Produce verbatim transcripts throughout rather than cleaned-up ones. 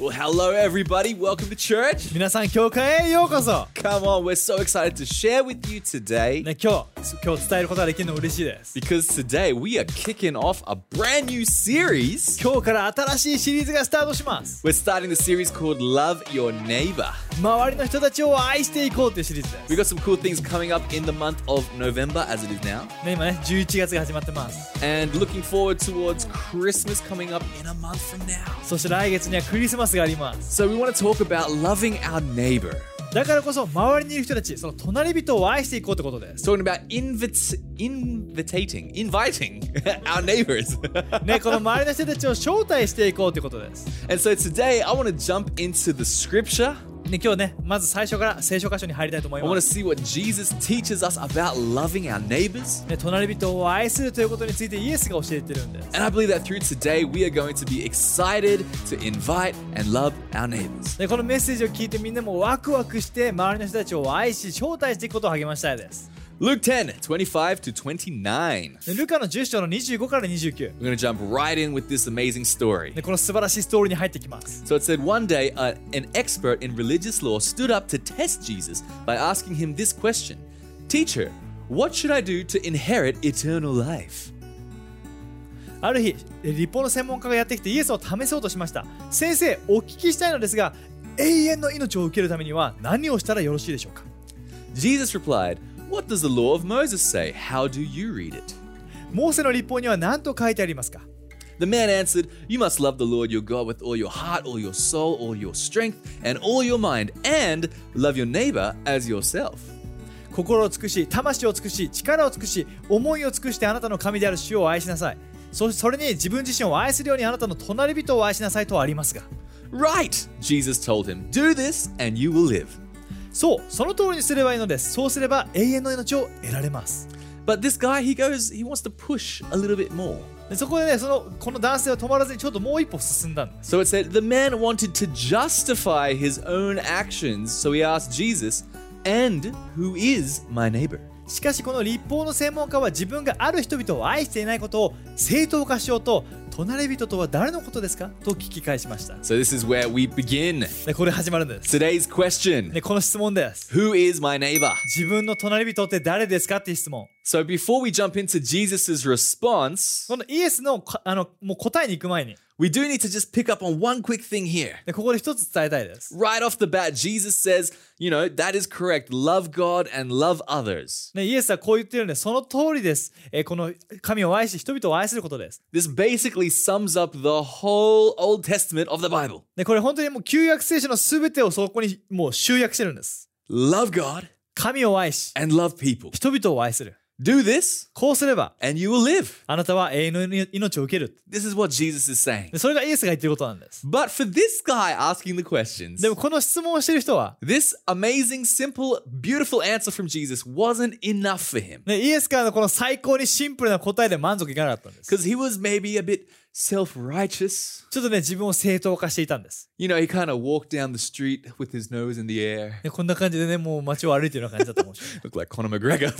Well, hello everybody. Welcome to church. 皆さん教会へようこそ。 Come on, we're so excited to share with you today ね、今日今日伝えることができるの嬉しいです。 because today we are kicking off a brand new series. 今日から新しいシリーズがスタートします。 We're starting the series called Love Your Neighbor. 周りの人たちを愛していこうというシリーズです。 We got some cool things coming up in the month of November as it is now. ね、今ねじゅういちがつが始まってます。 And looking forward towards Christmas coming up in a month from now. そして来月にはクリスマスがあります。 So we want to talk about loving our neighbor. だからこそ周りにいる人たち、その隣人を愛していこうってことです。 Talking about invit- invitating, inviting our neighbors. ね、この周りの人たちを招待していこうってことです。 And so today I want to jump into the scripture. ね、今日ね、まず最初から聖書箇所に入りたいと思い I ま want to す。 see what Jesus teaches us about loving our neighbors. ね、隣人を愛するということについてイエスが教えてるんです。 And I believe that through today we are going to be excited to invite and love our neighbors. でこのメッセージを聞いてみんなもワクワクして周りの人たちを愛し招待していくことを励ましたいです。 Luke ten, twenty-five to twenty-nine. でルカのじゅっ章のにじゅうごからにじゅうきゅう We're going to jump right in with this amazing story. でこの素晴らしいストーリーに入ってきます。 So it said one day uh, an expert in religious law stood up to test Jesus by asking him this question. Teacher, what should I do to inherit eternal life? ある日立法の専門家がやってきてイエスを試そうとしました。先生、お聞きしたいのですが、永遠の命を受けるためには何をしたらよろしいでしょうか。 Jesus replied,What does the law of Moses say? How do you read it? モーセの立法には何と書いてありますか。 The man answered, You must love the Lord your God with all your heart, all your soul, all your strength, and all your mind, and love your neighbor as yourself. 心を尽くし、魂を尽くし、力を尽くし、思いを尽くしてあなたの神である主を愛しなさい。そそれに自分自身を愛するようにあなたの隣人を愛しなさいとありますが。 Right, Jesus told him, Do this and you will live. そう、その通りにすればいいのです。そうすれば永遠の命を得られます。 But this guy, he goes, he wants to push a little bit more. でそこでね、そのこの男性は止まらずにちょっともう一歩進んだんです。 So it said, the man wanted to justify his own actions, so he asked Jesus, And who is my neighbor? しかしこの立法の専門家は自分がある人々を愛していないことを正当化しようと、隣人とは誰のことですかと聞き返しました。 So this is where we begin. でこれ始まるんです。 Today's question, でこの質問です。 Who is my neighbor? 自分の隣人って誰ですかっていう質問。 So before we jump into Jesus' response, このイエスのあのもう答えに行く前に、 we do need to just pick up on one quick thing here. でここで一つ伝えたいです。 Right off the bat, Jesus says, you know, that is correct. Love God and love others. ね、イエスはこう言ってるんで、その通りです。えーこの神を愛し、人々を愛することです。 This basically sums up the whole Old Testament of the Bible. でこれ本当にもう旧約聖書のすべてをそこにもう集約してるんです。 Love God 神を愛し、 and love people. 人々を愛する。 Do this こうすれば and you will live. あなたは永遠の命を受ける。 This is what Jesus is saying. でそれがイエスが言ってることなんです。 But for this guy asking the questions, でもこの質問をしている人は、 this amazing, simple, beautiful answer from Jesus wasn't enough for him. ね、イエスからのこの最高にシンプルな答えで満足いかなかったんです。 Because he was maybe a bit self-righteous. ちょっとね、自分を正当化していたんです。 You know, he kind of walked down the street with his nose in the air. でこんな感じでね、もう街を歩いてるような感じだったかもしれない。 Looked like Conor McGregor.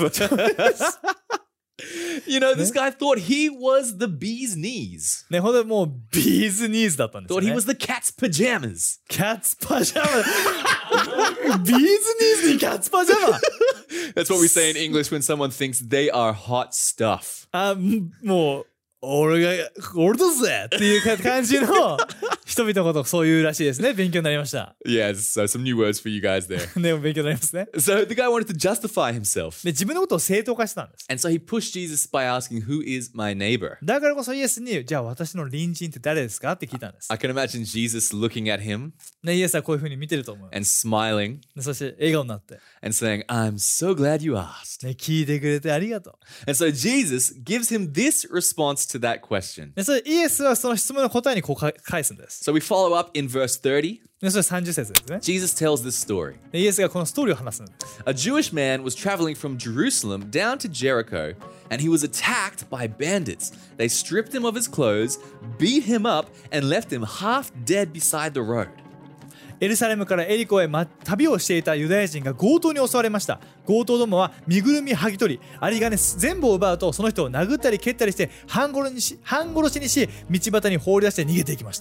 You know, this guy thought he was the bee's knees. ね、ほんとにもうビーズニーズだったんですよ Thought he ね。 was the cat's pajamas. キャッツパジャマビーズニーズにキャッツパジャマ That's what we say in English when someone thinks they are hot stuff. あ、もう俺が俺だぜっていう感じの人々のことをそういうらしいですね。勉強になりました。 Yes, so some new words for you guys there. ね、勉強になりますね。 So the guy wanted to justify himself. で、自分のことを正当化してたんです。 And so he pushed Jesus by asking, Who is my neighbor? だからこそイエスに、じゃあ私の隣人って誰ですかって聞いたんです。 I can imagine Jesus looking at him ね、イエスはこういう風に見てると思う。 and smiling でそして笑顔になって、 and saying, I'm so glad you asked. ね、聞いてくれてありがとう。 And so Jesus gives him this response to that question. でそれイエスはその質問の答えにこうか返すんです。 So we follow up in verse thirty. でそれさんじゅっ節ですね。 Jesus tells this story. でイエスがこのストーリーを話すんです。 A Jewish man was traveling from Jerusalem down to Jericho, and he was attacked by bandits. They stripped him of his clothes, beat him up, and left him half dead beside the road. エルサレムからエリコへ、ま、旅をしていたユダヤ人が強盗に襲われました。強盗どもは身ぐるみ剥ぎ取り、有り金全部を奪うと、その人を殴ったり蹴ったりして半殺しにし、半殺しにし道端に放り出して逃げていきました。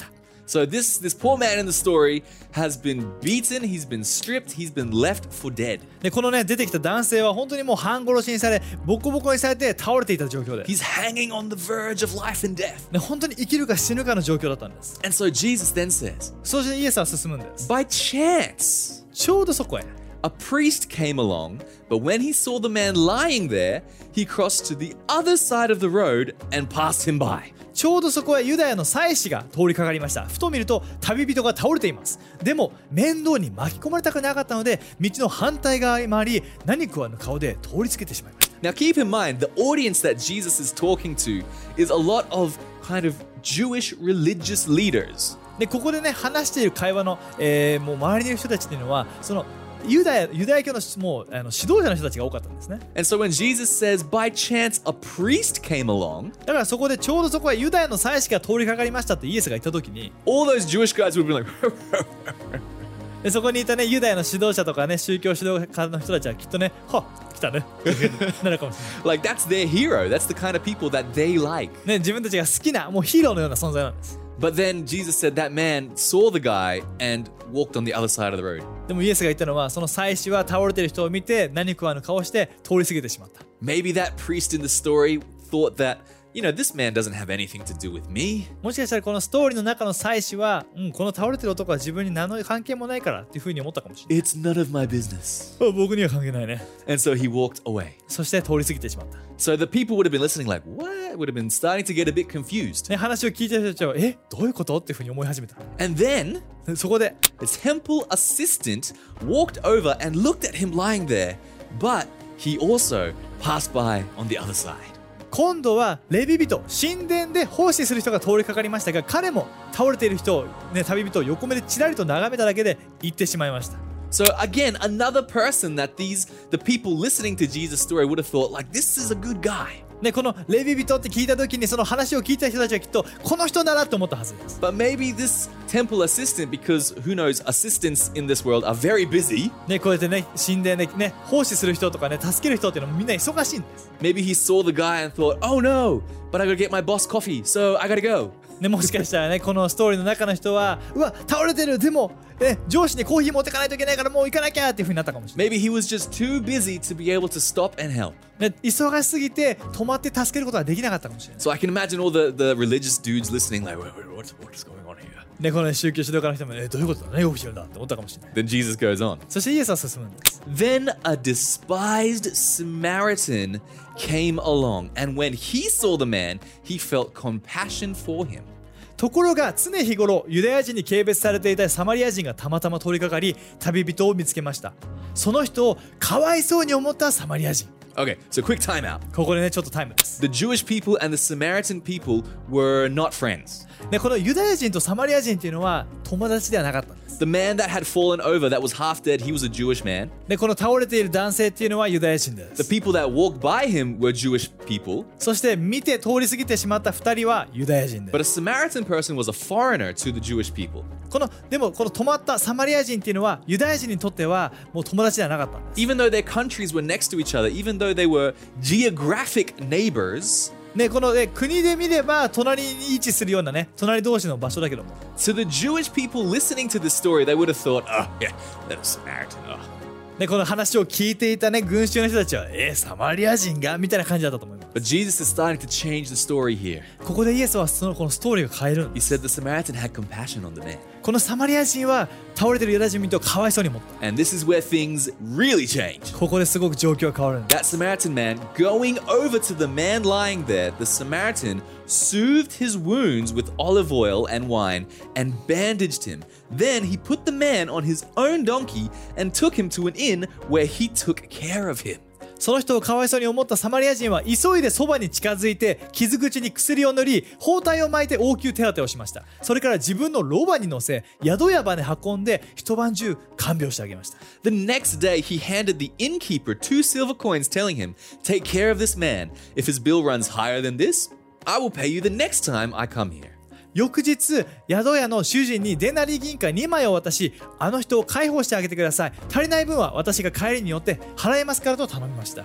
So this, this poor man in the story has been beaten, he's been stripped, he's been left for dead. でこのね出てきた男性は本当にもう半殺しにされボコボコにされて倒れていた状況で、 He's hanging on the verge of life and death. ね、本当に生きるか死ぬかの状況だったんです。 And so Jesus then says, そしてイエスは進むんです。 by chance, ちょうどそこへ a priest came along, but when he saw the man lying there, he crossed to the other side of the road and passed him by. ちょうどそこへユダヤの祭司が通りかかりました。ふと見ると旅人が倒れています。でも面倒に巻き込まれたくなかったので道の反対側へ回り何食わぬ顔で通り過ぎてしまいました。 Now keep in mind, the audience that Jesus is talking to is a lot of kind of Jewish religious leaders. でここでね話している会話の、えー、もう周りにいる人たちっていうのはそのユダヤ、ユダヤ教のもうあの指導者の人たちが多かったんですね。 And so when Jesus says, by chance a priest came along, だからそこでちょうどそこへユダヤの祭司が通りかかりましたってイエスが言った時に all those Jewish guys would be like, でそこにいたねユダヤの指導者とかね宗教指導家の人たちはきっとねはっ来たねなるかもしれない like that's their hero. That's the kind of people that they like. ね自分たちが好きなもうヒーローのような存在なんです。 But then Jesus said that man saw the guy and walked on the other side of the road. でもイエスが言ったのはその祭司は倒れてる人を見て何食わぬ顔して通り過ぎてしまった。 Maybe that priest in the story thought that, you know, this man doesn't have anything to do with me. もしかしたらこのストーリーの中の祭司は、うん、この倒れてる男は自分に何の関係もないからっていうふうに思ったかもしれない。 It's none of my business. あ僕には関係ないね。 And so he walked away. そして通り過ぎてしまった。 So the people would have been listening like, what? Would have been starting to get a bit confused. ね、話を聞いてる人たちはえどういうことっていうふうに思い始めた。 And then でそこで the temple assistant walked over and looked at him lying there, but he also passed by on the other side. 今度はレビ人神殿で奉仕する人が通りかかりましたが彼も倒れている人を、ね、旅人を横目でちらりと眺めただけで行ってしまいました。 So again, another person that these the people listening to Jesus' story would have thought like, this is a good guy. ね、このレビ人って聞いた時にその話を聞いた人たちはきっとこの人だなと思ったはずです。 But maybe this temple assistant, because who knows, assistants in this world are very busy. ね、こうやってね神殿でね奉仕する人とかね助ける人っていうのもみんな忙しいんです。 Maybe he saw the guy and thought, oh no, but I gotta get my boss coffee, so I gotta go. ね、もしかしたらねこのストーリーの中の人はうわ倒れてるでも、ね、上司にコーヒー持ってかないといけないからもう行かなきゃっていう風になったかもしれない。 Maybe he was just too busy to be able to stop and help. ね、忙しすぎて止まって助けることができなかったかもしれない。 So I can imagine all the, the religious dudes listening like, wait, wait, what's, what's going on here? ね、この、ね、宗教指導家の人も、ね、どういうことだ何が起きてるんだって思ったかもしれない。 Then Jesus goes on. そしてイエスは進むんです。 Then a despised Samaritan came along, and when he saw the man, he felt compassion for him. ところが常日頃ユダヤ人に軽蔑されていたサマリア人がたまたま通りかかり旅人を見つけました。その人をかわいそうに思ったサマリア人。 Okay, so quick time out. ここでねちょっとタイムです。 The Jewish people and the Samaritan people were not friends. でこのユダヤ人とサマリア人っていうのは友達ではなかったんです。 The man that had fallen over, that was half dead, he was a Jewish man. でこの倒れている男性っていうのはユダヤ人で The す。 people that walked by him were Jewish people. そして見て通り過ぎてしまったふたりはユダヤ人で But a す。 Samaritan person was a foreigner to the Jewish people. このでもこの止まったサマリア人っていうのはユダヤ人にとってはもう友達ではなかったんです。 Even though their countries were next to each other, even though they were geographic neighbors, ね、この、ね、国で見れば隣に位置するようなね隣同士の場所だけども to the Jewish people listening to this story, they would have thought, oh, yeah, that was Samaritan. Oh. ね、この話を聞いていたね群衆の人たちはえー、サマリア人がみたいな感じだったと思います。 But Jesus is starting to change the story here. ここでイエスはそのこのストーリーを変えるん He です。 said the Samaritan had compassion on the man. このサマリア人は倒れてるユダヤ人をかわいそうに思った。 And this is where things really change. ここですごく状況が変わるんです。 That Samaritan man, going over to the man lying there, the Samaritan soothed his wounds with olive oil and wine and bandaged him. Then he put the man on his own donkey and took him to an inn where he took care of him. その人をかわいそうに思ったサマリア人は急いでそばに近づいて傷口に薬を塗り包帯を巻いて応急手当てをしました。それから自分のロバに乗せ宿屋場に運んで一晩中看病してあげました。 The next day he handed the innkeeper two silver coins, telling him, take care of this man. If his bill runs higher than this, I will pay you the next time I come here. 翌日宿屋の主人にデナリ銀貨にまいを渡しあの人を解放してあげてください。足りない分は私が帰りによって払いますからと頼みました。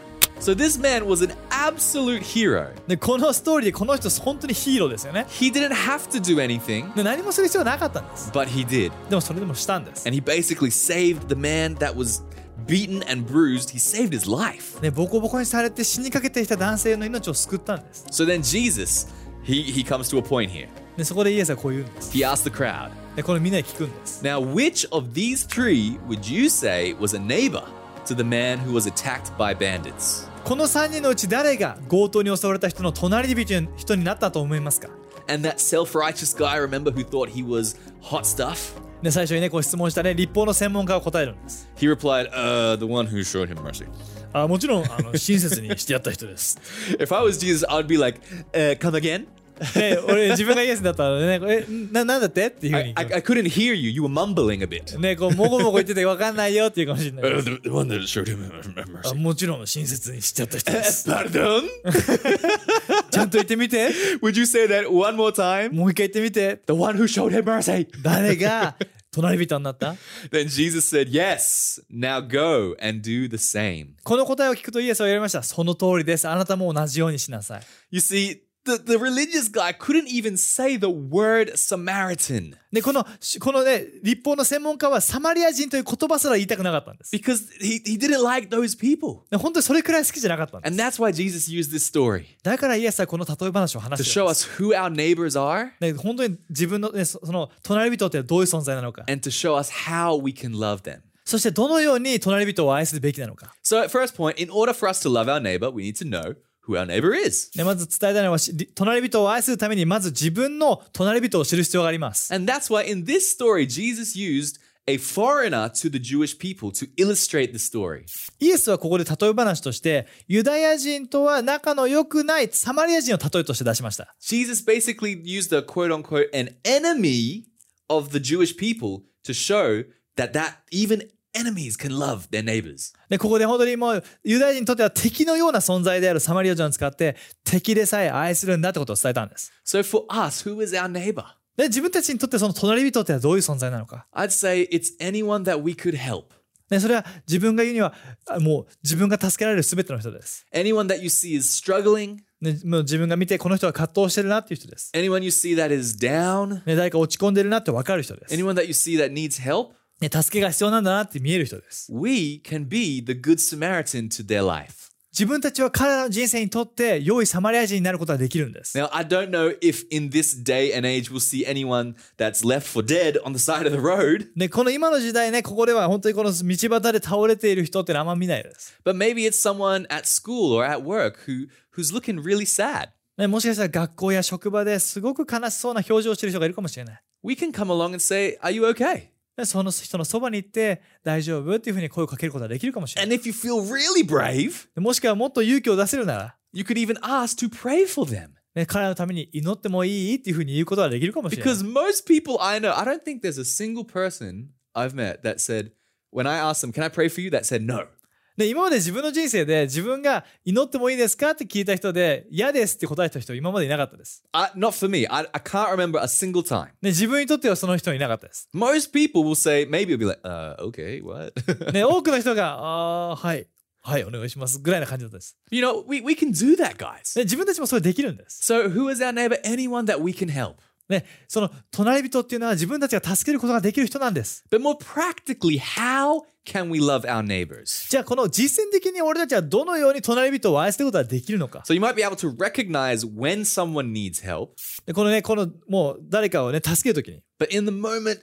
So this man was an absolute hero. でこのストーリーでこの人本当にヒーローですよね。 He didn't have to do anything, で何もする必要はなかったんです。 but he did. でもそれでもしたんです。 And he basically saved the man that was beaten and bruised. He saved his life. ね、ボコボコにされて死にかけていた男性の命を救ったんです。 So then Jesus, he, he comes to a point here. でそこでイエスはこう言うんです。 He asked the crowd, でこれみんなに聞くんです。 now which of these three would you say was a neighbor to the man who was attacked by bandits? このさんにんのうち誰が強盗に襲われた人の隣人の人になったと思いますか？ And that self-righteous guy, remember, who thought he was hot stuff? で最初にねこう質問したね立法の専門家が答えるんです。 He replied, uh, the one who showed him mercy. あもちろんあの親切にしてやった人です。 If I was Jesus, I'd be like, uh, come again? で俺自分がイエスだったらねえななんだってっていうふう I, に I, I couldn't hear you. You were mumbling a bit. ねこうもごもご言ってて分かんないよっていうかもしれない。 Uh, the, the one that showed him あ mercy. もちろん親切にしちゃった人です。 Pardon? ちゃんと言ってみて。 Would you say that one more time? もう一回言ってみて。 The one who showed him mercy. 誰が隣人になった？ Then Jesus said, yes, now go and do the same. この答えを聞くとイエスは言われました。その通りです。あなたも同じようにしなさい。 You see, the, the religious guy couldn't even say the word Samaritan でこのこのね立法の専門家はサマリア人という言葉すら言いたくなかったんです。 because he, he didn't like those people. で本当にそれくらい好きじゃなかったんで And す。 that's why Jesus used this story だからイエスはこの例え話を to 話して show るんです。 us who our neighbors are ね本当に自分のねそその隣人ってどういう存在なのか。 and to show us how we can love them. そしてどのように隣人を愛するべきなのか。 So, first point, in order for us to love our neighbor, we need to know who our neighbor is. でまず伝えたいのはし隣人を愛するためにまず自分の隣人を知る必要があります。 And that's why in this story, Jesus used a foreigner to the Jewish people to illustrate the story. イエスはここで例え話としてユダヤ人とは仲の良くないサマリア人を例えとして出しました。 Jesus basically used a quote unquote an enemy of the Jewish people to show that that even enemies can love their neighbors. でここで本当にもうユダヤ人にとっては敵のような存在であるサマリア人を使って敵でさえ愛するんだってことを伝えたんです。 So for us, who is our neighbor? で自分たちにとってその隣人ってはどういう存在なのか。 I'd say it's anyone that we could help. でそれは自分が言うにはあもう自分が助けられる全ての人です。 Anyone that you see is struggling. ね、もう自分が見てこの人は葛藤してるなっていう人です。 Anyone you see that is down. ね、誰か落ち込んでるなって分かる人です。 Anyone that you see that needs help. ね、助けが必要なんだなって見える人です。 We can be the good Samaritan to their life. 自分たちは彼らの人生にとって良いサマリア人になることができるんです。 Now, I don't know if in this day and age we'll see anyone that's left for dead on the side of the road. ね、この今の時代ね、ここでは本当にこの道端で倒れている人ってのはあんま見ないです。 But maybe it's someone at school or at work who, who's looking really sad. ね、もしかしたら学校や職場ですごく悲しそうな表情をしている人がいるかもしれない。 We can come along and say, are you okay? でその人のそばに行って大丈夫っていうふうに声をかけることができるかもしれない。 And if you feel really brave, でもしくはもっと勇気を出せるなら、 you could even ask to pray for them. ね、彼らのために祈ってもいいっていうふうに言うことができるかもしれない。 Because most people I know, I don't think there's a single person I've met that said, when I asked them, can I pray for you? That said no. で今まで自分の人生で自分が祈ってもいいですかって聞いた人で嫌ですって答えた人今までいなかったです。 I, not for me. I, I can't remember a single time. ね、自分にとってはその人はいなかったです。 Most people will say, maybe it'll be like, uh, okay, what? ね、多くの人があーはいはいお願いしますぐらいな感じだったです。 You know, we, we can do that, guys. ね、自分たちもそれできるんです。 So who is our neighbor? Anyone that we can help. ね、その隣人っていうのは自分たちが助けることができる人なんです。 But more practically, how can we love our neighbors? じゃあこの実践的に俺たちはどのように隣人を愛することができるのか。 So you might be able to recognize when someone needs help, でこのねこのもう誰かをね助けるときに、 but in the moment,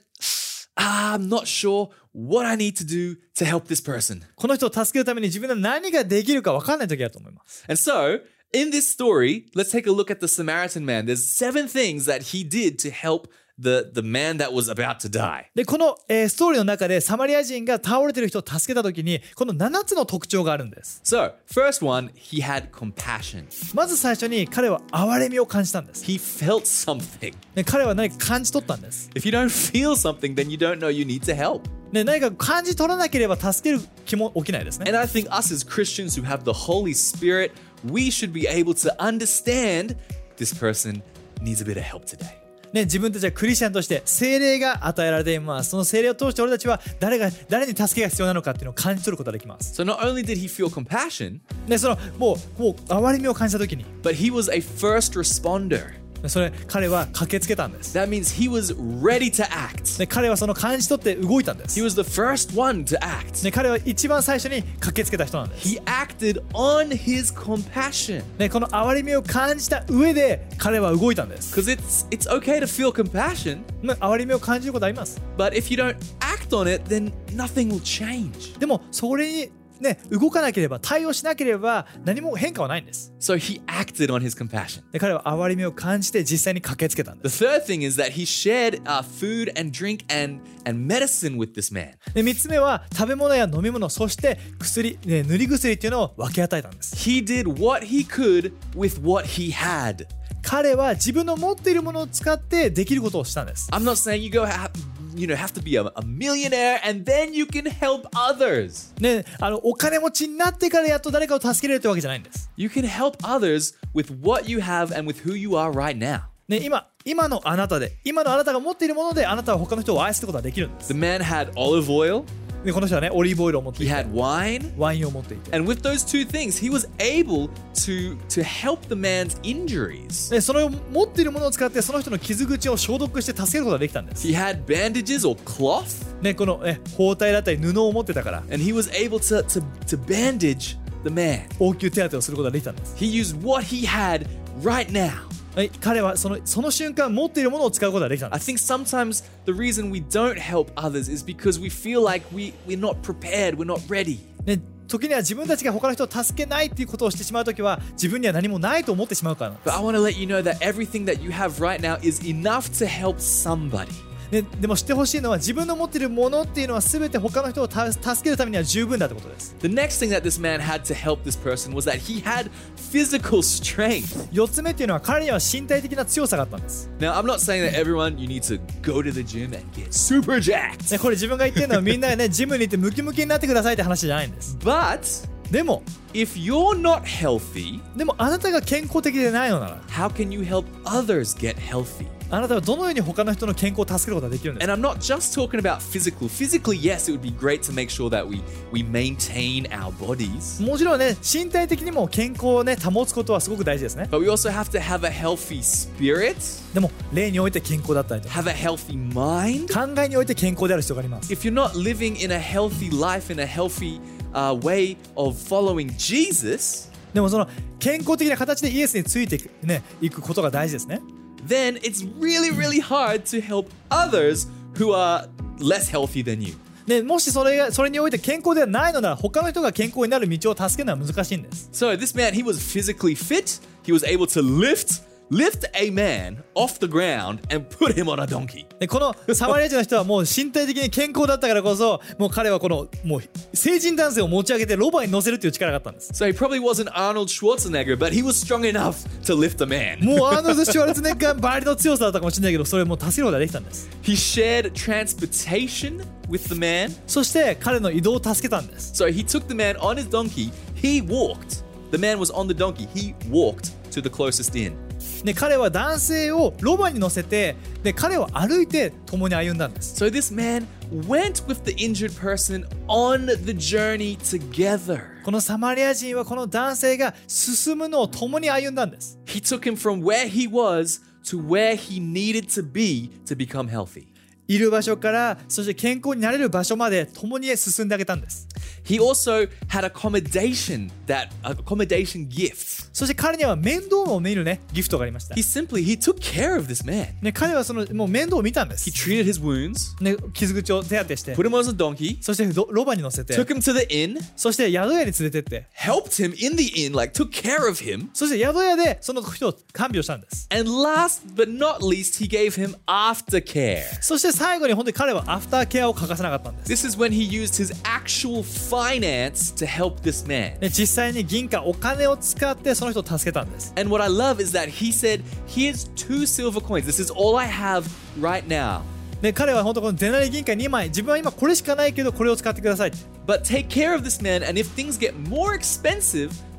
ah, I'm not sure what I need to do to help this person. この人を助けるために自分が何ができるか分かんないときだと思います。 And so, in this story, let's take a look at the Samaritan man. There's seven things that he did to help the, the man that was about to die. でこの、えーストーリーの中でサマリア人が倒れてる人を助けたときにこのななつの特徴があるんです。 So, first one, he had compassion. まず最初に彼は憐れみを感じたんです。 He felt something. ね、彼は何か感じ取ったんです。 If you don't feel something, then you don't know you need to help. ね、何か感じ取らなければ助ける気も起きないですね。 And I think us as Christians who have the Holy Spirit, we should be able to understand this person needs a bit of help today. ね、自分たちはクリスチャンとして聖霊が与えられています。その聖霊を通して俺たちは誰が誰に助けが必要なのかっていうのを感じ取ることができます。 So not only did he feel compassion, で、そのもうもう憐れみを感じた時に、 but he was a first responder. それ彼は駆けつけたんです。 That means he was ready to act. で、彼はその感じ取って動いたんです。 He was the first one to act. で、彼は一番最初に駆けつけた人なんです。 He acted on his compassion. で、この憐れみを感じた上で彼は動いたんです。 Because it's it's okay to feel compassion, ね、憐れみを感じることあります。 but if you don't act on it, then nothing will change. でもそれにね、動かなければ、対応しなければ何も変化はないんです。 So he acted on his compassion. で、彼は憐れみを感じて実際に駆けつけたんで The す。 third thing is that he shared uh, food and drink and, and medicine with this man. で、みっつめは食べ物や飲み物、そして薬、ね、塗り薬っていうのを分け与えたんです。 He did what he could with what he had. 彼は自分の持っているものを使ってできることをしたんです。 I'm not saying you go ha- you know have to be a, a millionaire and then you can help others. ね、あのお金持ちになってからやっと誰かを助けれるってわけじゃないんです。 You can help others with what you have and with who you are right now. ね、今、今のあなたで、今のあなたが持っているものであなたは他の人を愛することができるんです。 The man had olive oil, で、この人はね、オリーブオイルを持ってい he て、 had wine, ワインを持っていて、 and with those two things, he was able to to help the man's injuries. で、それを持っているものを使ってその人の傷口を消毒して助けることができたんです。 He had bandages or cloth, ね、この、ね、包帯だったり布を持ってたから、 and he was able to to to bandage the man. 応急手当てをすることができたんです。 He used what he had right now. はい、彼はそのその瞬間持っているものを使うことができたんで I す。 think sometimes the reason we don't help others is because we feel like we we're not prepared, we're not ready. ね、時には自分たちが他の人を助けないっていうことをしてしまうときは自分には何もないと思ってしまうからなんで But I want to let you know that everything that you have right now is enough to help somebody. す。ね、でも知ってほしいのは自分の持っているものっていうのは全て他の人をた助けるためには十分だってことです。 The next thing that this man had to help this person was that he had physical strength. よっつめっていうのは彼には身体的な強さがあったんです。 Now, I'm not saying that everyone you need to go to the gym and get super jacked. ね、これ自分が言ってるのはみんなねジムに行ってムキムキになってくださいって話じゃないんです。 But でも if you're not healthy, でもあなたが健康的でないのなら how can you help others get healthy? あなたはどのように他の人の健康を助けることができるんです And か。 I'm not just talking about physical. Physically, yes, it would be great to make sure that we we maintain our bodies. もちろんね身体的にも健康をね保つことはすごく大事ですね。 But we also have to have a healthy spirit, でも霊において健康だったりとか have a healthy mind. 考えにおいて健康である必要があります。 If you're not living in a healthy life, in a healthy uh, way of following Jesus, でもその健康的な形でイエスについていく、ね、いくことが大事ですね。 then it's really, really hard to help others who are less healthy than you. でもしそれがそれにおいて健康ではないのなら他の人が健康になる道を助けるのは難しいんです。 So this man, he was physically fit. He was able to lift lift a man off the ground and put him on a donkey. でこのサマリア人の人はもう身体的に健康だったからこそもう彼はこのもう成人男性を持ち上げてロバに乗せるっていう力があったんです。 So he probably wasn't Arnold Schwarzenegger, but he was strong enough to lift a man. もうアーノルド・シュワルツェネッガーばりの強さだったかもしれないけどそれも助けることができたんです。 He shared transportation with the man. そして彼の移動を助けたんです。 So he took the man on his donkey. He walked. The man was on the donkey. He walked to the closest inn. で彼は男性をロバに乗せてで彼を歩いて共に歩んだんです。 So this man went with the injured person on the journey together. このサマリア人はこの男性が進むのを共に歩んだんです。 He took him from where he was to where he needed to be to become healthy. いる場所からそして健康になれる場所まで共に進んであげたんです。 He also had accommodation, that accommodation gift. そして彼には面倒を見るねギフトがありました。 He simply he took care of this man. ね、彼はそのもう面倒を見たんで He す。 treated his wounds, ね、傷口を手当てして、 put him on a donkey, そしてロロバに乗せて、 took him to the inn, そして宿屋に連れてって、 helped him in the inn, like took care of him. そして宿屋でその人を看病したんです。 And last but not least, he gave him aftercare. そして最後に本当に彼はアフターケアを欠かせなかったんです。 This is when he used his actual finance to help this man. ね、実際に銀貨お金を使ってその人を助けたんです。 And what I love is that he said, here's two silver coins. This is all I have right now. で彼は本当このデナリ銀貨にまい自分は今これしかないけどこれを使ってください。 But take care of this man, and if things get more expensive,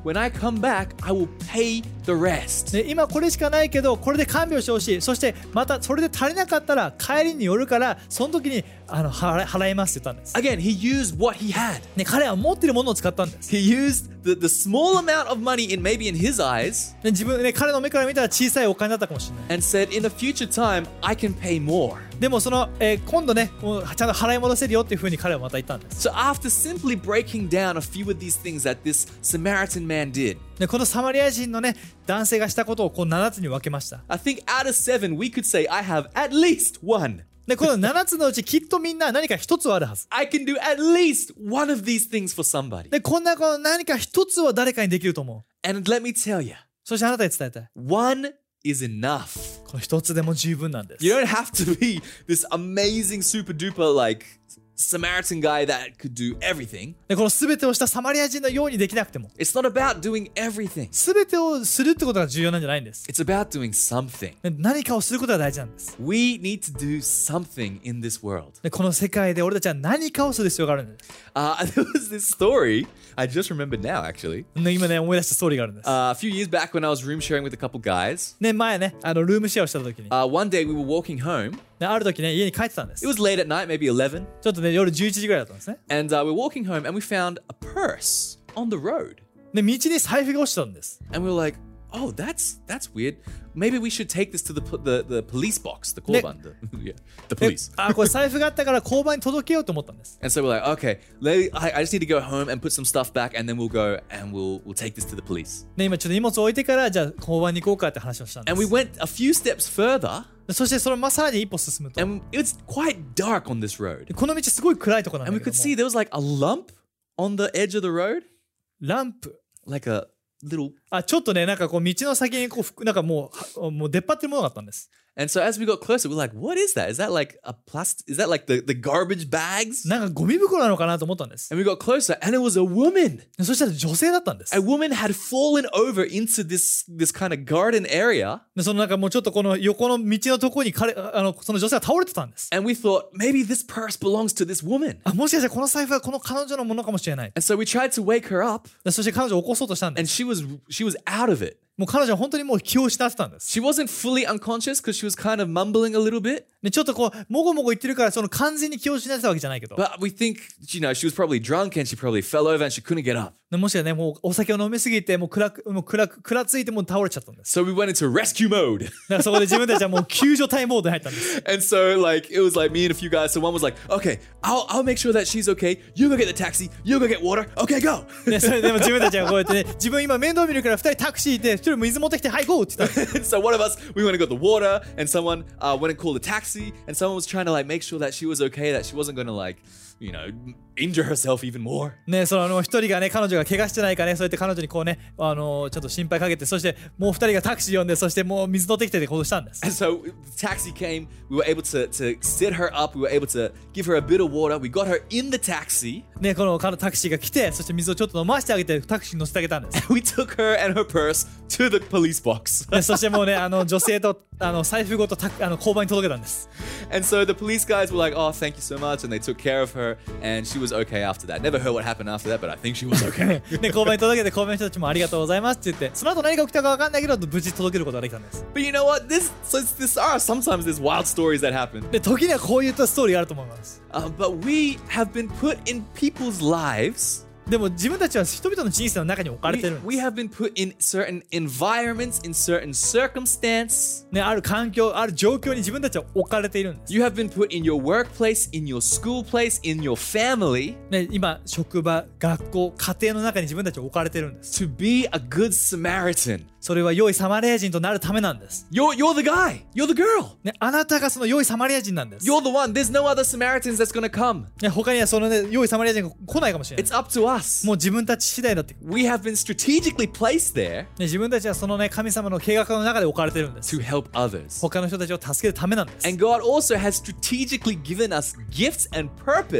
when I come back, I will pay the rest. で今これしかないけどこれで看病してほしい。そしてまたそれで足りなかったら帰りに寄るからその時にあの払払いますって言ったんです。 Again, he used what he had. ね、彼は持っているものを使ったんです。 He used the, the small amount of money in maybe in his eyes ね、自分ね彼の目から見たら小さいお金だったかもしれない。 and said, in the future time, I can pay more. でもその、えー今度ねもうちゃんと払い戻せるよっていうふうに彼はまた言ったんです。 So after simply breaking down a few of these things that this Samaritan man did, でこのサマリア人のね男性がしたことをこうななつに分けました。 I think out of seven, we could say I have at least one. でこのななつのうちきっとみんな何か一つはあるはず。 I can do at least one of these things for somebody. でこんなこの何か一つは誰かにできると思う。 And let me tell you, そしてあなたに伝えたい。 one is enough. この一つでも十分なんです。 You don't have to be this amazing, super duper, like Samaritan guy that could do everything. でこの全てをしたサマリア人のようにできなくても It's not about doing everything. 全てをするってことが重要なんじゃないんです。 It's about doing something. で何かをすることが大事なんです。 We need to do something in this world. でこの世界で俺たちは何かをする必要があるんです。 Uh, there was this story I just remembered now, actually. ね今ね思い出したストーリーがあるんです。 Uh, a few years back when I was room sharing with a couple guys, ね前ねあのルームシェアをした時に、 uh, one day we were walking home. ね、ある時ね家に帰ってたんです。 It was late at night, maybe eleven. ちょっとね夜じゅういちじぐらいだったんですね。 And uh, we were walking home and we found a purse on the road. で道に財布が落ちたんです。 And we were like, oh, that's that's weird. Maybe we should take this to the the, the police box, the korban, the, yeah, the で police. あこれ財布があったから交番に届けようと思ったんです。 And so we're like, okay, let, I, I just need to go home and put some stuff back, and then we'll go and we'll we'll take this to the police. ね今ちょっと荷物置いてからじゃあ交番に行こうかって話をしたんで And we す。 went a few steps further, そしてそのまあさらに一歩進むと and it was quite dark on this road. この道すごい暗いところなん And だ we け could ど see there was like a lump on the edge of the road, ランプ like a little. あちょっとねなんかこう道の先にこうふなんかもうはもう出っ張ってるものがあったんです。 And so as we got closer, we're like, what is that? Is that like a plastic? Is that like the, the garbage bags? なんかゴミ袋なのかなと思ったんです。 And we got closer, and it was a woman. でそしたら女性だったんです。 A woman had fallen over into this this kind of garden area, でそのなんかもうちょっとこの横の道のところに彼あのその女性が倒れてたんです。 and we thought maybe this purse belongs to this woman. あもしかしたらこの財布はこの彼女のものかもしれない。 And so we tried to wake her up, でそして彼女を起こそうとしたんで and す。 she was she was out of it. もう彼女は本当にもう気を失ってたんです。 She wasn't fully unconscious because she was kind of mumbling a little bit. でちょっとこうもごもご言ってるからその完全に気を失ってたわけじゃないけど、 But we think, you know, she was probably drunk and she probably fell over and she couldn't get up. でもしかねもうお酒を飲みすぎてもう暗くもう暗くくらついてもう倒れちゃったんです。 So we went into rescue mode. だからそこで自分たちはもう救助隊モードに入ったんです。 And so like it was like me and a few guys. So one was like, okay, I'll I'll make sure that she's okay. You go get the taxi. You go get water. Okay, go. でそれでも自分たちはこうやってね自分今面倒見るからふたりタクシー行ってひとり水持ってきてはいゴーって言ったんです。 So one of us, we went and got the water, and someone uh, went and called a taxi, and someone was trying to like make sure that she was okay, that she wasn't gonna like, you know, injure herself even more. ねそのあの一人がね彼女が怪我してないかねそうやって彼女にこうねあのちょっと心配かけてそしてもう二人がタクシー呼んでそしてもう水乗ってきてってことしたんです。 And so the taxi came. We were able to to sit her up. We were able to give her a bit of water. We got her in the taxi. ねこのタクシーが来てそして水をちょっと飲ませてあげてタクシーに乗せてあげたんです。 We took her and her purse to the police box. でそしてもうねあの女性とあの財布ごとたあの交番に届けたんです。 And so the police guys were like, "Oh, thank you so much," and they took care of her, and she was okay after that. Never heard what happened after that, but I think she was okay. で交番に届けて交番の人たちもありがとうございますって言ってその後何が起きたか分かんないけど無事届けることができたんです。 But you know what? This, so this are sometimes there's wild stories that happen. で時にはこういったストーリーがあると思います。 Uh, but we have been put in people's lives. でも自分たちは人々の人生の中に置かれ We, てるんです。 we have been put in certain environments, in certain circumstance. ね、ある環境、ある状況に自分たちは置かれているんです。 You have been put in your workplace, in your school place, in your family ね、今、職場、学校、家庭の中に自分たちは置かれてるんです。 to be a good Samaritan. それは良いサマリア人となるためなんです。 You're, you're the guy. You're the girl. ね、あなたがその良いサマリア人なんです。 You're the one. There's no other Samaritans that's going to come. ね、他にはそのね、良いサマリア人が来ないかもしれない。 It's up to us. もう自分たち次第だって。ね、 We have been strategically placed there 自分たちはそのね、神様の計画の中で置かれてるんです。 to help others. 他の人たちを助けるためなんです。 And God also has strategically given us gifts and purpose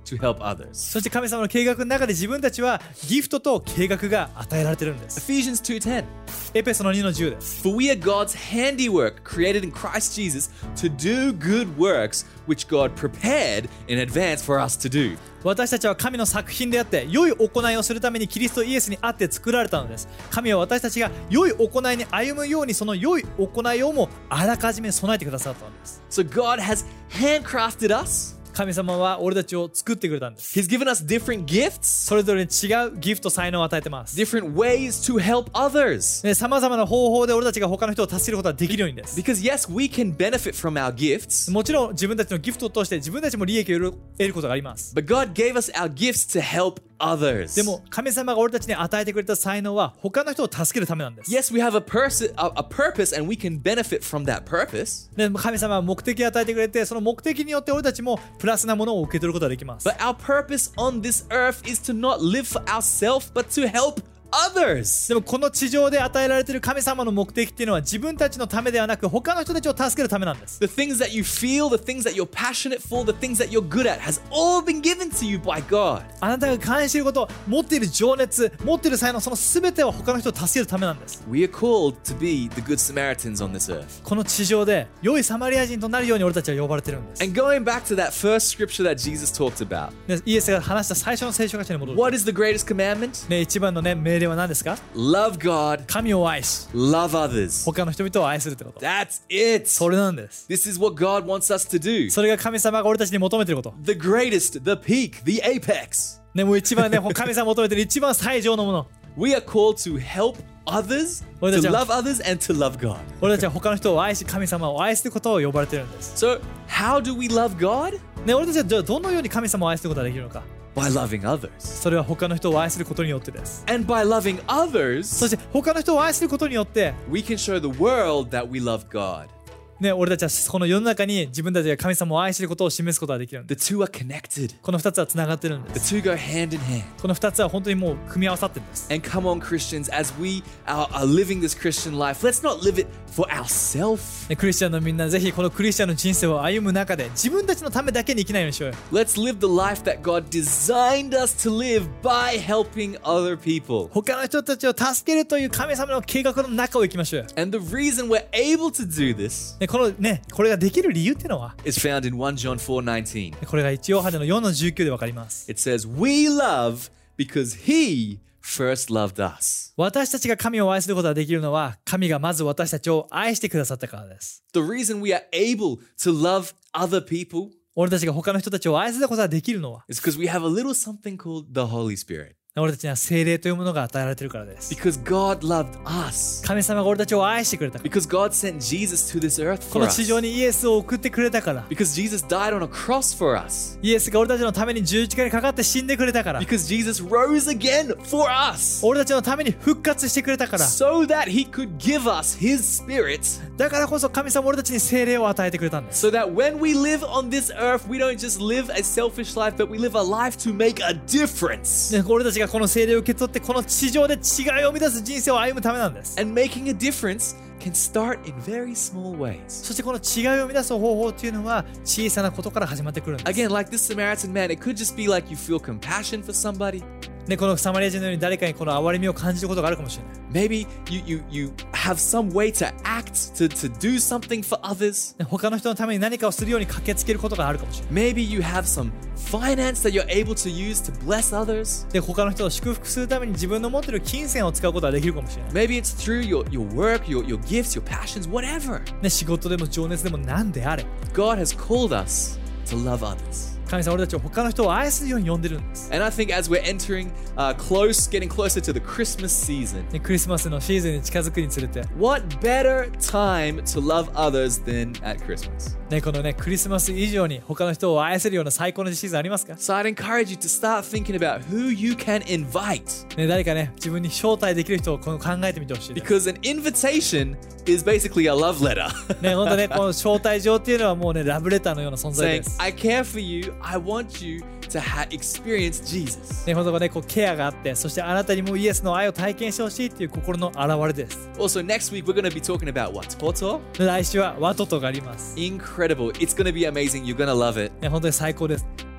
to help others. そして神様の計画の中で自分たちはギフトと計画が与えられているんです。 Ephesians two ten. エペソのにのじゅうです。 For we are God's handiwork, created in Christ Jesus to do good works which God prepared in advance for us to do. 私たちは神の作品であって良い行いをするためにキリストイエスにあって作られたのです。神は私たちが良い行いに歩むようにその良い行いをもあらかじめ備えてくださったのです。 So God has handcrafted us. 神様は俺たちを作ってくれたんです。 He's given us different gifts, それぞれに違うギフト才能を与えてます。 different ways to help others. さまざまな方法で俺たちが他の人を助けることができるようにです。 Because yes, we can benefit from our gifts, もちろん自分たちのギフトを通して自分たちも利益を得ることがあります。 but God gave us our gifts to help others. でも神様が俺たちに与えてくれた才能は他の人を助けるためなんです。 Yes, we have a, pers- a, a purpose and we can benefit from that purpose. で神様は目的を与えてくれて、その目的によって俺たちもプラスなものを受け取ることができます。 But our purpose on this earth is to not live for ourselves, but to help others. でもこの地上で与えられている神様の目的っていうのは自分たちのためではなく他の人たちを助けるためなんです。 The things that you feel, the things that you're passionate for, the things that you're good at has all been given to you by God. あなたが関していること、持っている情熱、持っている才能、その全ては他の人を助けるためなんです。 We are called to be the good Samaritans on this earth. この地上で良いサマリア人となるように俺たちは呼ばれてるんです。 And going back to that first scripture that Jesus talked about, でイエスが話した最初の聖書箇所に戻ると、 what is the greatest commandment? ね、一番の、ね、命令は何ですか？ Love God, 神を愛し、 love others. 他の人々を愛するってこと。 That's it. それなんです。 This is what God wants us to do. それが神様が俺たちに求めていること。 The greatest, the peak, the apex. ね、もう一番ね、神様が求めている一番最上のもの。 We are called to help others, to love others, and to love God. 俺たちは他の人を愛し、神様を愛することを呼ばれているんです。 So, how do we love God? ね、俺たちはじゃあどのように神様を愛することができるのか。 By loving others. それは他の人を愛することによってです。 And by loving others, そして他の人を愛することによって、 we can show the world that we love God. ね、俺たちはこの世の中に自分たちが神様を愛していることを示すことができるんです。 The two are connected. この二つはつながってるんで The す。 two go hand in hand. この二つは本当にもう組み合わさってるんです。 And come on, Christians, as we are, are living this Christian life, let's not live it for ourselves. ね、クリスチャンのみんなぜひこのクリスチャンの人生を歩む中で自分たちのためだけに生きないようにしようよ。 Let's live the life that God designed us to live by helping other people. 他の人たちを助けるという神様の計画の中を行きましょうよ。 And the reason we're able to do this ね、このね、これができる理由っていうのは、 is found in First John four nineteen. これが一ヨハネのよんのじゅうきゅうでわかります。 It says, We love because He first loved us. 私たちが神を愛することができるのは、神がまず私たちを愛してくださったからです。 The reason we are able to love other people 俺たちが他の人たちを愛することができるのは、 is because we have a little something called the Holy Spirit. 俺たちには聖霊というものが与えられているからです。 Because God loved us. 神様が俺たちを愛してくれたから。 Because God sent Jesus to this earth こ for の地 us. 上にイエスを送ってくれたから。 Because Jesus died on a cross for us. イエスが俺たちのために十字架にかかって死んでくれたから。 Because Jesus rose again for us. 俺たちのために復活してくれたから。 So that He could give us His Spirit. だからこそ神様は俺たちに聖霊を与えてくれたんです。 So that when we live on this earth, we don't just live a selfish life, but we live a life to make a difference. ね、俺たちがこの聖霊を受け取ってこの地上で違いを生み出す人生を歩むためなんです。 And making a difference can start in very small ways. そしてこの違いを生み出す方法っていうのは小さなことから始まってくるんです。 Again, like this Samaritan man, it could just be like you feel compassion for somebody. ね、このサマリア人のように誰かにこの憐れみを感じることがあるかもしれない。 Maybe you, you, you have some way to act, to, to do something for others. ね、他の人のために何かをするように駆けつけることがあるかもしれない。 Maybe you have some finance that you're able to use to bless others. で、他の人を祝福するために自分の持っている金銭を使うことができるかもしれない。 Maybe it's through your, your work, your, your gifts, your passions, whatever. ね、仕事でも情熱でも何であれ。 God has called us to love others. 神様は俺たちを他の人を愛するように呼んでるんです。 And I think as we're entering uh, close, getting closer to the Christmas season, ね、クリスマスのシーズンに近づくにつれて、 what better time to love others than at Christmas? ね、このね、クリスマス以上に他の人を愛せるような最高のシーズンありますか？ So I'd encourage you to start thinking about who you can invite. ね、誰かね、自分に招待できる人をこの考えてみてほしいです。 Because an invitation is basically a love letter. ね、本当ね、この招待状っていうのはもうね、ラブレターのような存在 Saying, です。 I care for you, I want you to ha- experience Jesus. ね、本当ね、こうケアがあって、そしてあなたにもイエスの愛を体験してほしいっていう心の表れです。 Also, next week we're going to be talking about what? Toto? 来週はワトトがあります。 Incredible. It's going to be amazing. You're going to love it. ね、本当に最高です。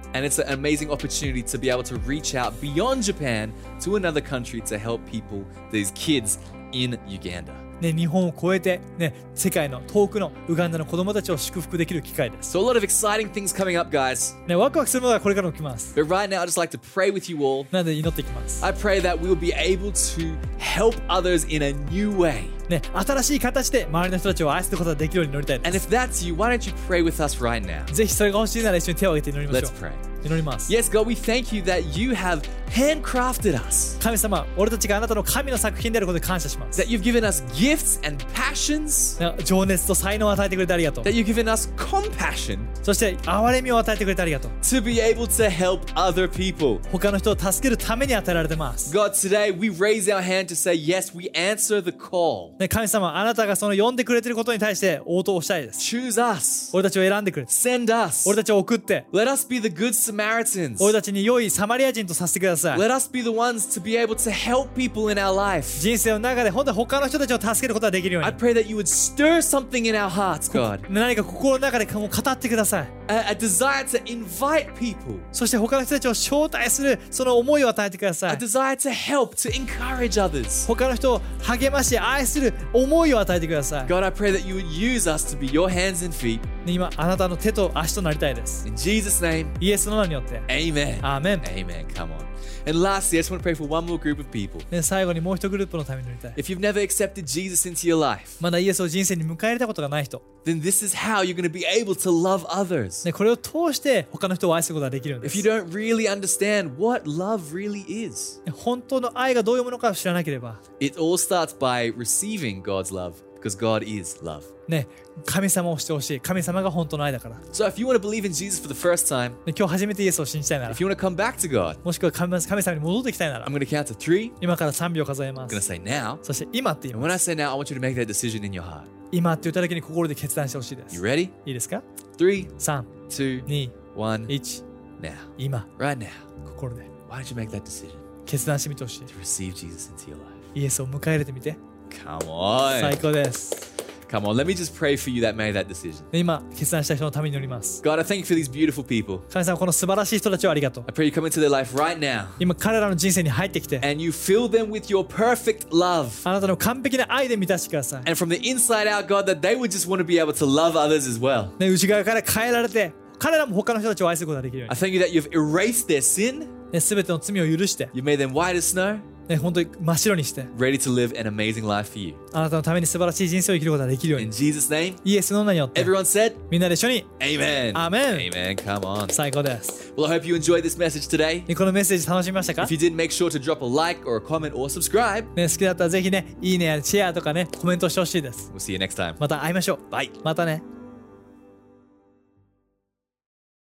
And it's an amazing opportunity to be able to reach out beyond Japan to another country to help people, these kids in Uganda. ね、日本を超えて、ね、世界の遠くのウガンダの子供たちを祝福できる機会です。 So a lot of exciting things coming up, guys. ね、ワクワクするものがこれからも来ます。 But right now, I'd just like to pray with you all. なので祈っていきます。 I pray that we'll be able to help others in a new way. ね、新しい形で周りの人たちを愛することができるように祈りたいで And す。 if that's you, why don't you pray with us right now? ぜひそれが欲しいなら一緒に手を挙げて祈りましょ Let's う。 pray. 祈ります。 Yes, God, we thank you that you have handcrafted us, 神様、俺たちがあなたの神の作品であることで感謝します。 that you've given us gifts and passions, ね、情熱と才能を与えてくれてありがとう。 that you've given us compassion そして憐れみを与えてくれてありがとう。 to be able to help other people. 他の人を助けるために与えられてます。 God, today we raise our hand to say, yes, we answer the call. ね、神様、あなたがその呼んでくれていることに対して応答をしたいです。 Choose us. 俺たちを選んでくれて、 Send us. 俺たちを送って、 Let us be the good Samaritans. 俺たちに良いサマリア人とさせてください。 Let us be the ones to be able to help people in our life. 人生の中で本当に他の人たちを助けることができるよう I に、 pray that you would stir something in our hearts, God. 何か心の中でもう語ってください。 A, a desire to invite people. そして他の人たちを招待するその思いを与えてくださ A い。 desire to help, to encourage others. 他の人を励まし愛する思いを与えてください。 God, I pray that you would use us to be your hands and feet. 今あなたの手と足となりたいです。 In Jesus' name, イエスの名によって。 amen. アーメン。 Amen. Come on. And lastly, I just want to pray for one more group of people. ね、最後にもう一グループのために祈りたい。 If you've never accepted Jesus into your life, まだイエスを人生に迎え入れたことがない人、 then this is how you're going to be able to love others. ね、これを通して他の人を愛することができるんで If す。 you don't really understand what love really is, ね、本当の愛がどういうものかを知らなければ、 it all starts by receiving God's love because God is love. ね、神様をしてほしい。神様が本当の愛だから。ね、 So if you want to believe in Jesus for the first time, 今日初めてイエスを信じたいなら if、you want to come back to God, もしくは神神様に戻ってきたいなら I'm、going to count to three. 今からさんびょう数えま I'm going to す。 say now. そして今って言い And ま when す。 I say now, I want you to make that decision in your heart. 今って言った時に心で決断してほしいで You す。 ready? いいですか？ Three, さん、 two, に、 one. いち、 Now. 今、 Right now. 心で Why don't you make that decision 決断してみてほしい。 to receive Jesus into your life? イエスを迎え入れてみて。 Come on. 最高です。 Come on. Let me just pray for you that made that decision. で今、決断した人のために祈ります。 God, I thank you for these beautiful people. 神様、この素晴らしい人たちをありがとう。 I pray you come into their life right now 今、彼らの人生に入ってきて、 and you fill them with your perfect love. あなたの完璧な愛で満たしてください。 And from the inside out, God, that they would just want to be able to love others as well. ね、内側から変えられて、彼らも他の人たちを愛することができるよう I thank you that you've erased their sin. に。ね、すべての罪を許して、 You made them white as snow, ね、本当に真っ白にして、 ready to live an amazing life for you. あなたのために素晴らしい人生を生きることができるよう In に。 Jesus' name, イエスの名によって、 everyone said, みんなで一緒に Amen. Amen. Amen. Come on. 最高です。 Well, I hope you enjoyed this message today. ね、このメッセージ楽しみましたか？ If you did, make sure to drop a like or a comment or subscribe. ね、好きだったらぜひね、いいねやシェアとかね、コメントしてほしいです。 We'll see you next time. また会いましょう。 Bye. またね。